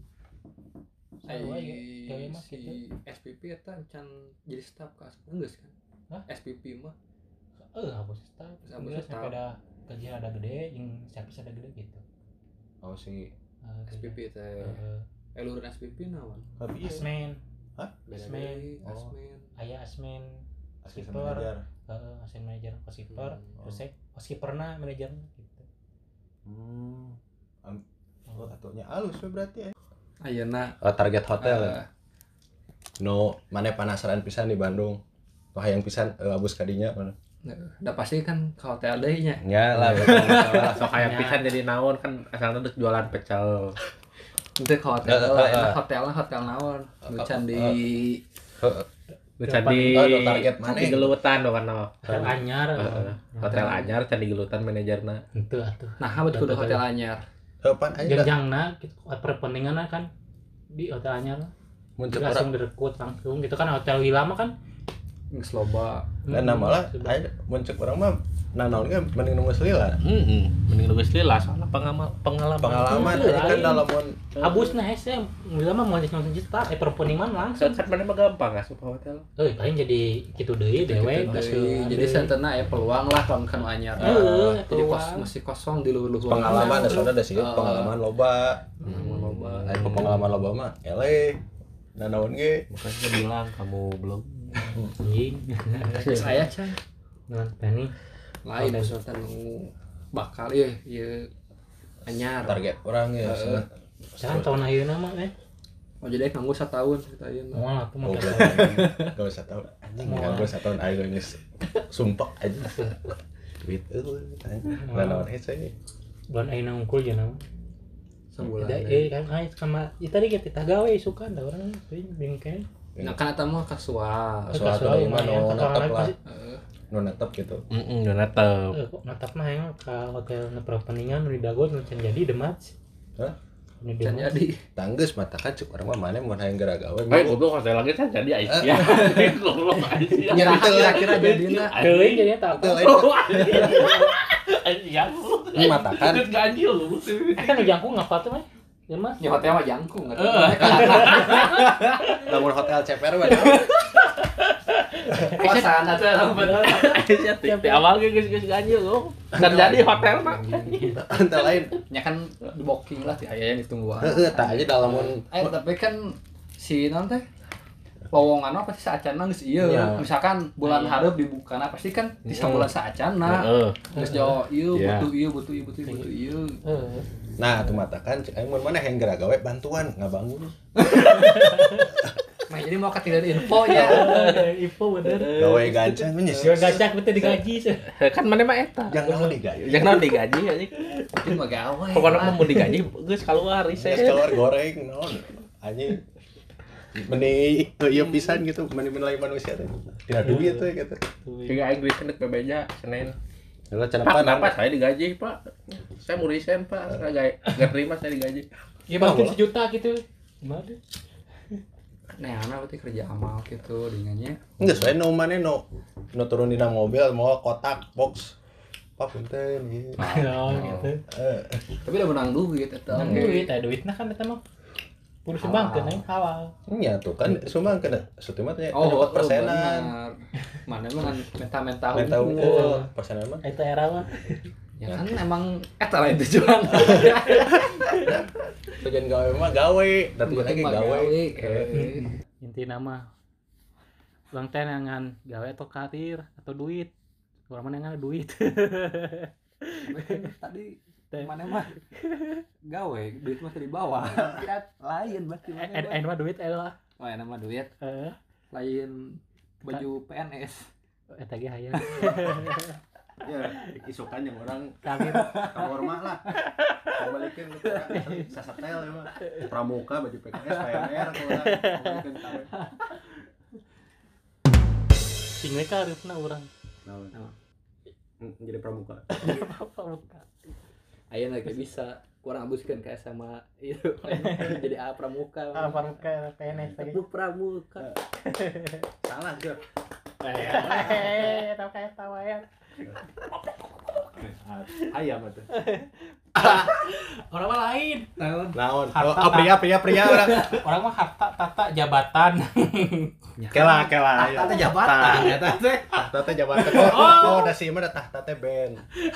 [SPEAKER 5] ai
[SPEAKER 4] Sarua ya, gawe mah
[SPEAKER 5] si
[SPEAKER 4] gitu.
[SPEAKER 5] S P P eta can jadi staff ka geus kan
[SPEAKER 4] Hah?
[SPEAKER 5] S P P mah
[SPEAKER 4] Eh, hapus staff.
[SPEAKER 5] Hapus
[SPEAKER 4] Geus
[SPEAKER 5] staff.
[SPEAKER 4] sampai ada gaji ada gede, yang service ada gede gitu.
[SPEAKER 3] oh si
[SPEAKER 4] Eh,
[SPEAKER 5] S P P teh
[SPEAKER 4] eh,
[SPEAKER 5] eh luhur S P P naon
[SPEAKER 3] Habis
[SPEAKER 4] asmen,
[SPEAKER 5] beda
[SPEAKER 4] Asmen.
[SPEAKER 5] deui
[SPEAKER 3] Oh.
[SPEAKER 5] asmen
[SPEAKER 4] aya asmen,
[SPEAKER 3] asisten
[SPEAKER 4] skipper,
[SPEAKER 3] manajer
[SPEAKER 4] heeh, asisten manajer, housekeeper,
[SPEAKER 5] Hmm.
[SPEAKER 4] terus saya housekeeperna manajerna gitu.
[SPEAKER 3] hmm am- oh atunya alus we berarti eh.
[SPEAKER 5] ayeuna
[SPEAKER 3] oh, target hotel
[SPEAKER 5] eh,
[SPEAKER 3] no mana penasaran pisan di Bandung wah yang pisan uh, abus kadinya mana
[SPEAKER 5] udah pasti kan ke hotel deui nya
[SPEAKER 3] ya lah betul, betul lah.
[SPEAKER 6] sok kayak
[SPEAKER 4] Ya.
[SPEAKER 6] pisan jadi naon kan asalnya udah jualan pecel.
[SPEAKER 5] Itu ke hotel
[SPEAKER 3] Eh,
[SPEAKER 5] lah,
[SPEAKER 3] eh,
[SPEAKER 5] enak
[SPEAKER 3] eh.
[SPEAKER 5] hotelnya hotel naon, nu can di
[SPEAKER 6] Nu candi
[SPEAKER 3] Oh, nu target mana?
[SPEAKER 6] candi gelutan do kana.
[SPEAKER 4] Hotel anyar.
[SPEAKER 6] Heeh. Hotel anyar candi gelutan manajerna.
[SPEAKER 4] Itu atuh.
[SPEAKER 5] nah betul kudu hotel anyar.
[SPEAKER 3] Kapan aja dah
[SPEAKER 4] Jenjangna gitu, perpentinganna kan di hotel anyar.
[SPEAKER 3] muncul
[SPEAKER 4] Jadi langsung
[SPEAKER 3] orang
[SPEAKER 4] direkrut langsung gitu kan hotel Wilama kan.
[SPEAKER 5] Geus loba.
[SPEAKER 3] dan nama lah aja muncul orang mah nah naon ge mending nunggu selila
[SPEAKER 6] Heeh. Mending lu geus lila soalnya pengalaman pengalaman.
[SPEAKER 3] pengalaman
[SPEAKER 4] Iya,
[SPEAKER 3] aja kan
[SPEAKER 4] lain.
[SPEAKER 3] dalam mun
[SPEAKER 4] Abusna hese Wilama mau jadi nonton juta eh perpentingan langsung.
[SPEAKER 6] Kan mana mah gampang asup hotel.
[SPEAKER 4] Eh paling jadi kitu deui dewe
[SPEAKER 5] Gitu
[SPEAKER 4] geus
[SPEAKER 5] deui. Jadi santana aya peluang lah lamun kanu anyar.
[SPEAKER 4] Heeh,
[SPEAKER 5] Jadi kos
[SPEAKER 4] peluang.
[SPEAKER 5] masih kosong di luhur-luhur.
[SPEAKER 3] pengalaman da soalnya da sih
[SPEAKER 5] Oh.
[SPEAKER 3] pengalaman loba
[SPEAKER 5] Pengalaman loba.
[SPEAKER 3] aya pengalaman loba mah ele nah naon ge
[SPEAKER 6] Makanya bilang kamu belum.
[SPEAKER 4] anjing.
[SPEAKER 5] Geus aya can.
[SPEAKER 4] Nah, tani
[SPEAKER 5] Lain
[SPEAKER 4] Hotel.
[SPEAKER 5] misalkan nu bakal ieu ieu anyar.
[SPEAKER 3] target orang ya
[SPEAKER 5] Heeh.
[SPEAKER 4] jangan tahun ayeuna mah eh.
[SPEAKER 5] Oh jadi nganggo satahun cerita ieu.
[SPEAKER 4] Moal atuh mah.
[SPEAKER 3] Oh, gak usah tahu anjing
[SPEAKER 4] Mau.
[SPEAKER 3] gak usah tahu ayo geus sumpah aja duit eueuh nah naon hese
[SPEAKER 4] Bulan ayeuna unggul jeung naon.
[SPEAKER 5] Sebulan.
[SPEAKER 4] Ada eh kan ai sama ya tadi kita gawe suka da urang teuing bingkeun.
[SPEAKER 5] Nah kan eta mah kasual.
[SPEAKER 3] Suatu dari mana no natap lah
[SPEAKER 5] Heeh.
[SPEAKER 3] no natap gitu
[SPEAKER 6] Heeh, udah natep.
[SPEAKER 4] Eh kok natap mah yang ka hotel na perpeningan nu di Dago nu can jadi demat.
[SPEAKER 3] Hah?
[SPEAKER 4] Nu
[SPEAKER 5] Can
[SPEAKER 4] demat.
[SPEAKER 5] jadi.
[SPEAKER 3] tanggeus mata kan cuk urang mah mana mun hayang gara gawe
[SPEAKER 6] Eh, goblok hotel lagi kan jadi Aisyah. Goblok Aisyah.
[SPEAKER 5] Nyerah kira-kira jadinya.
[SPEAKER 4] Teuing jadi eta
[SPEAKER 3] itu
[SPEAKER 4] apa?
[SPEAKER 3] lain
[SPEAKER 6] Aisyah.
[SPEAKER 3] ini mata kan
[SPEAKER 6] Itu ganjil lu.
[SPEAKER 4] Eh kan nu jangkung ngapa tuh mah? Ya mas.
[SPEAKER 5] Ya hotel mah jangkung atuh.
[SPEAKER 3] lamun hotel C P R mah
[SPEAKER 5] Kosan atuh lamun bener.
[SPEAKER 6] Aisyah teh di awal ge geus-geus ganjil lu. Kan jadi hotel mah.
[SPEAKER 3] hotel lain
[SPEAKER 5] Ya kan di booking lah ti aya yang ditunggu.
[SPEAKER 3] heeh tah aja da lamun
[SPEAKER 5] Eh tapi kan si non teh lowongan apa sih saacana geus ieu.
[SPEAKER 3] Iya.
[SPEAKER 5] Misalkan bulan hareup dibukana pasti kan di sabulan saacana.
[SPEAKER 6] Heeh.
[SPEAKER 5] Geus jauh ieu
[SPEAKER 6] Iya.
[SPEAKER 5] butuh ieu butuh ieu butuh ieu butuh ieu.
[SPEAKER 4] Heeh.
[SPEAKER 3] nah atuh mata kan cek aing mun mana hayang gara gawe bantuan ngabangun
[SPEAKER 5] Nah jadi mau katilan info ya.
[SPEAKER 4] Info bener.
[SPEAKER 3] gawe gancang nya
[SPEAKER 4] Gak gacak betul digaji sih.
[SPEAKER 6] Kan mana mah eta.
[SPEAKER 3] jangan digawe
[SPEAKER 6] Jangan digaji anjing.
[SPEAKER 5] Itu mah gawe.
[SPEAKER 6] Pokoknya mah mau digaji geus keluar
[SPEAKER 3] Geus
[SPEAKER 6] riset.
[SPEAKER 3] keluar goreng naon anjing meni ieu pisan gitu meni menilai manusia teh tidak duit tuh gitu
[SPEAKER 6] Tiga aing duit kendek bebeja Senin.
[SPEAKER 3] Kalau
[SPEAKER 6] Pak,
[SPEAKER 3] cenapa
[SPEAKER 6] kenapa saya digaji, Pak? Saya mau resign, Pak. Saya gak, gak terima saya digaji.
[SPEAKER 4] Ya mungkin sejuta gitu. Gimana?
[SPEAKER 5] Nah, ana berarti kerja amal gitu dingannya.
[SPEAKER 3] enggak soalnya no mana no no turun dina mobil mau kotak box pak punten gitu
[SPEAKER 4] Oh gitu.
[SPEAKER 3] Eh,
[SPEAKER 5] Tapi udah menang duit eta.
[SPEAKER 4] Nang duit, ada duitnya kan eta mah. kudu sumbangkeun aing halal.
[SPEAKER 3] Nya tuh kan sumbang kena sutimah teh
[SPEAKER 5] Oh,
[SPEAKER 3] nyebut persenan.
[SPEAKER 5] benar. Mana emang menta-menta
[SPEAKER 3] Menta unggul persenan mah.
[SPEAKER 4] Eta era mah.
[SPEAKER 5] Ya kan emang eta lain tujuan.
[SPEAKER 3] Tujuan gawe mah gawe, dan tujuan lagi gawe.
[SPEAKER 5] Eh.
[SPEAKER 4] Intina mah urang teh nangan gawe atau karir atau duit. Urang mah nangan duit.
[SPEAKER 5] Tadi mana mah gawe duit mah di bawah. Lain berarti.
[SPEAKER 4] En mah duit elah.
[SPEAKER 5] Oh, enak mah duit.
[SPEAKER 4] Heeh.
[SPEAKER 5] Lain baju P N S.
[SPEAKER 4] Eta ge hayang.
[SPEAKER 3] Ya, isukan yang orang
[SPEAKER 4] Karir
[SPEAKER 3] kamar mah lah. Kembalikan lu sasatel ya mah. Pramuka baju P K S P M R kalau orang kembalikan kawe.
[SPEAKER 4] sing we karirna urang.
[SPEAKER 3] Nah, jadi pramuka.
[SPEAKER 5] Ayeuna ge bisa kurang abuskeun ka S M A itu jadi A pramuka.
[SPEAKER 4] Ah, pramuka P N S teh.
[SPEAKER 5] Bu pramuka.
[SPEAKER 3] Salah Jor.
[SPEAKER 4] Eh, tau kayak tawa ya.
[SPEAKER 3] Ayam atuh.
[SPEAKER 4] Orang mah lain.
[SPEAKER 3] Naon? Oh, pria pria pria orang.
[SPEAKER 4] Orang mah harta tata jabatan.
[SPEAKER 3] Kela kela.
[SPEAKER 5] Tahta jabatan eta teh.
[SPEAKER 3] Tahta teh jabatan. Oh, da si mah da tahta teh band.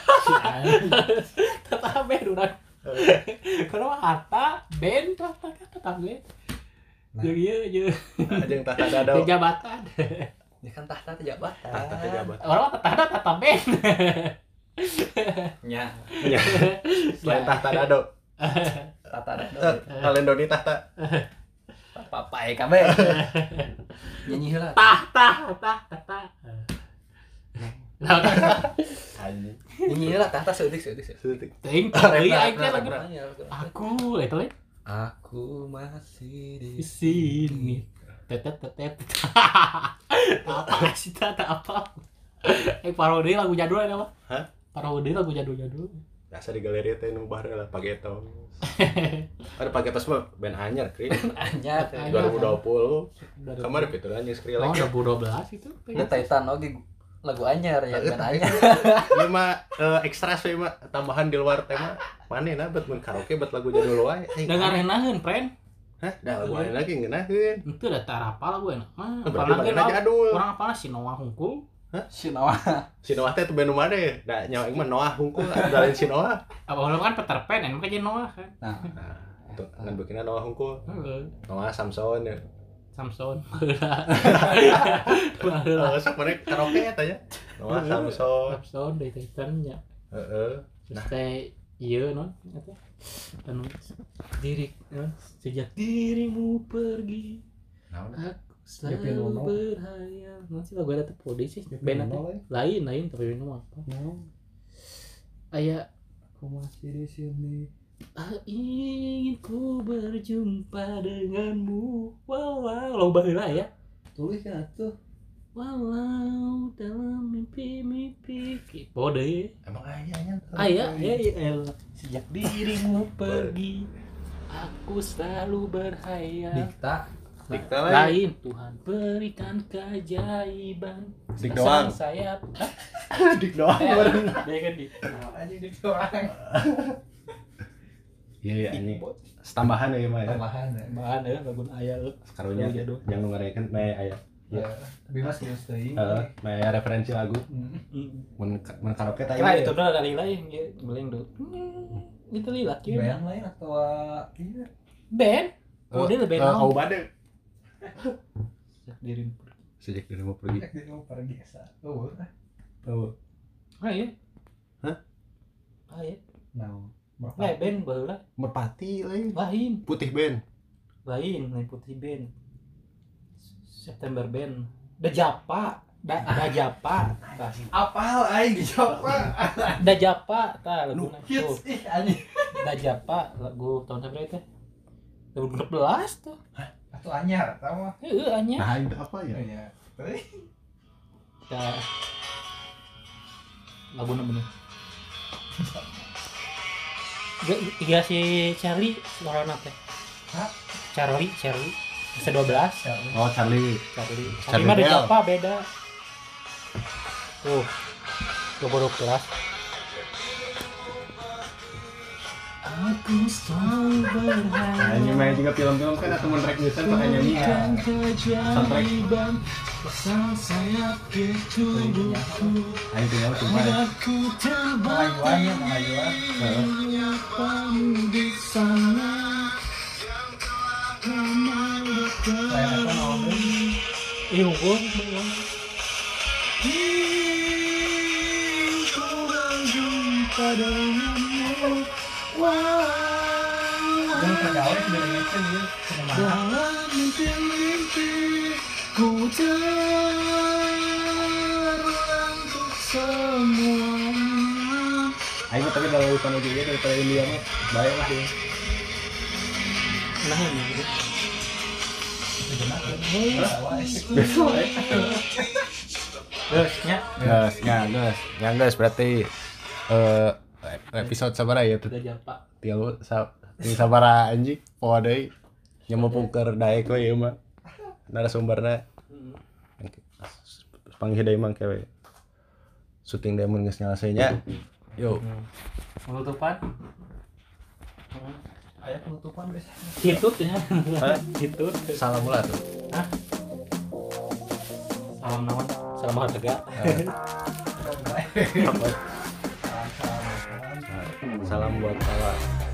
[SPEAKER 4] Tata ben urang. Kalau mah harta ben tata tata ben. Jeung ieu jeung
[SPEAKER 3] Ajeng tahta dado.
[SPEAKER 4] jabatan.
[SPEAKER 5] Ya kan tahta teh jabatan.
[SPEAKER 3] Tahta teh jabatan.
[SPEAKER 4] Orang mah tata tata ben.
[SPEAKER 5] Nya.
[SPEAKER 3] Iya. Selain tahta dado.
[SPEAKER 5] Tahta dado.
[SPEAKER 3] Kalian doni tahta.
[SPEAKER 5] Papai kabeh. Nyanyi heula.
[SPEAKER 4] Tah tah tah tata.
[SPEAKER 3] Anjing.
[SPEAKER 5] Nyanyi heula tahta seutik seutik.
[SPEAKER 3] Sutik.
[SPEAKER 4] Ting deui aing teh lagu.
[SPEAKER 5] Aku
[SPEAKER 4] Aku eta we
[SPEAKER 5] aku masih di
[SPEAKER 4] di sini. Tetet tetet. Apa sih tata apa? Eh parodi lagu jadul ada apa?
[SPEAKER 3] Hah?
[SPEAKER 4] Parodi lagu jadul-jadul.
[SPEAKER 3] Biasa di galeri teh nu baheula lah Pagetos. Ada Pagetos mah band anyar kri.
[SPEAKER 5] anyar.
[SPEAKER 3] dua ribu dua puluh.
[SPEAKER 4] Dari
[SPEAKER 3] Kamar fitur anjing skrill
[SPEAKER 4] Oh,
[SPEAKER 3] lagi.
[SPEAKER 4] dua ribu dua belas itu.
[SPEAKER 5] Nge Titan oge lagu anyar ya kan anyar.
[SPEAKER 3] Ieu mah eh, ekstra sih mah tambahan di luar tema. Manehna bet mun karaoke bet lagu jadul wae.
[SPEAKER 4] Dengarenaheun, friend.
[SPEAKER 3] Hah? Da lagu anu lagi ngeunaheun.
[SPEAKER 4] Itu da tarapa lagu enak mah.
[SPEAKER 3] Berarti manehna jadul.
[SPEAKER 4] Orang apa sih Noah Hungkul?
[SPEAKER 5] Sinawa.
[SPEAKER 3] Si Noah teh teu band nu made. Da nyawa aing mah Noah hungkul dalin si Noah.
[SPEAKER 4] Apa orang kan Peter Pan, enak jadi Noah kan.
[SPEAKER 5] Nah,
[SPEAKER 3] Nah, itu ngan bikinna Noah hungkul.
[SPEAKER 4] Heeh.
[SPEAKER 3] Noah Samson ya.
[SPEAKER 4] Samson.
[SPEAKER 3] Oh, sok mana karaoke eta nya. Noah Samson.
[SPEAKER 4] Samson dari Titan nya.
[SPEAKER 3] Heeh.
[SPEAKER 4] Terus teh ieu non eta anu diri non sejak dirimu pergi
[SPEAKER 3] Naon?
[SPEAKER 4] aku selalu berhayal. Nanti lagu ada teh podi sih band teh lain lain tapi minum apa aya
[SPEAKER 5] aku masih di sini.
[SPEAKER 4] ah, ingin ku berjumpa denganmu walau loba heula ya
[SPEAKER 5] Tulis kan atuh.
[SPEAKER 4] walau dalam mimpi-mimpi pode
[SPEAKER 3] Emang aya nya.
[SPEAKER 4] aya aya aya sejak dirimu pergi aku selalu berhayal.
[SPEAKER 5] Dikta.
[SPEAKER 3] Dikta lain.
[SPEAKER 4] Lain Tuhan berikan keajaiban.
[SPEAKER 3] Dik doang.
[SPEAKER 4] Sayap.
[SPEAKER 3] Dik doang.
[SPEAKER 4] Dia kan di.
[SPEAKER 5] Anjing dik doang.
[SPEAKER 3] Iya iya ini. Tambahan ya mah ya.
[SPEAKER 5] Tambahan ya.
[SPEAKER 4] Bahan ya lagu aya euy.
[SPEAKER 3] Karunya
[SPEAKER 4] Jadul.
[SPEAKER 3] jangan ngarekeun me aya.
[SPEAKER 5] Ya, tapi mas serius teuing.
[SPEAKER 3] Heeh, me aya referensi lagu.
[SPEAKER 5] Hmm.
[SPEAKER 3] Mun mun karaoke teh
[SPEAKER 4] Kira itu udah dari lain ya, beling do. Itu lila kieu.
[SPEAKER 5] Band lain atau iya.
[SPEAKER 4] Band. Oh, dia lebih
[SPEAKER 3] Kau
[SPEAKER 4] naon.
[SPEAKER 3] bade.
[SPEAKER 4] Sejak dirimu pergi.
[SPEAKER 3] Sejak dia mau pergi.
[SPEAKER 5] Dia mau pergi sa. Oh,
[SPEAKER 3] Oh.
[SPEAKER 4] Ah iya.
[SPEAKER 3] Hah?
[SPEAKER 4] Ah iya.
[SPEAKER 5] nah.
[SPEAKER 4] Nah, band baheula
[SPEAKER 3] Merpati lain.
[SPEAKER 4] lain.
[SPEAKER 3] Putih band.
[SPEAKER 4] Lain, lain putih band. September band. Da Japa, da da Japa. Tah.
[SPEAKER 5] Apal aing dijawab.
[SPEAKER 4] Da Japa tah lagu
[SPEAKER 5] Hits ih anjing.
[SPEAKER 4] Da Japa lagu tahun berapa itu? dua ribu enam belas tuh.
[SPEAKER 5] Atuh anyar tah mah.
[SPEAKER 4] Heeh anya.
[SPEAKER 3] Nah, itu apa ya?
[SPEAKER 5] Iya. Teuing.
[SPEAKER 4] Da lagu bener. Iya si Charlie suara apa?
[SPEAKER 5] Hah?
[SPEAKER 4] Charlie, Charlie. Bisa dua belas.
[SPEAKER 3] Oh, Charlie.
[SPEAKER 4] Charlie.
[SPEAKER 3] Charlie
[SPEAKER 4] Charlie mah
[SPEAKER 3] Bell.
[SPEAKER 4] ada apa beda? Tuh. dua ribu dua belas. Aku selalu berharap.
[SPEAKER 3] Nah, ini main juga film-film kan atau menarik bisa tuh hanya nyanyi. Soundtrack.
[SPEAKER 4] Pasang sayap di tubuhku.
[SPEAKER 3] Nah, itu yang sumpah.
[SPEAKER 4] Aku terbang menyapa di sana. Ih, unggul. Ku berjumpa denganmu. Dalam mimpi-mimpi ku terulang untuk semuanya.
[SPEAKER 3] Ayo tapi kalau bukan lagi dia daripada India mah baik lah dia.
[SPEAKER 4] Nah ini
[SPEAKER 3] Besok ya.
[SPEAKER 4] Gasnya
[SPEAKER 3] Gas, ya gas, ya gas berarti eh episode sabara ya tuh.
[SPEAKER 4] udah jam pak.
[SPEAKER 3] Tilu sa ti sabara anjing poe deui nya mupungker daek we ieu mah. Narasumberna panggih deui mangke we. Syuting demo geus nyelesai nya. Yo.
[SPEAKER 4] Penutupan
[SPEAKER 5] Aya penutupan guys.
[SPEAKER 4] hitut ya hitut
[SPEAKER 3] Salam ulah tuh.
[SPEAKER 4] Hah? Salam naon? Salam harga.
[SPEAKER 3] Salam buat kawan.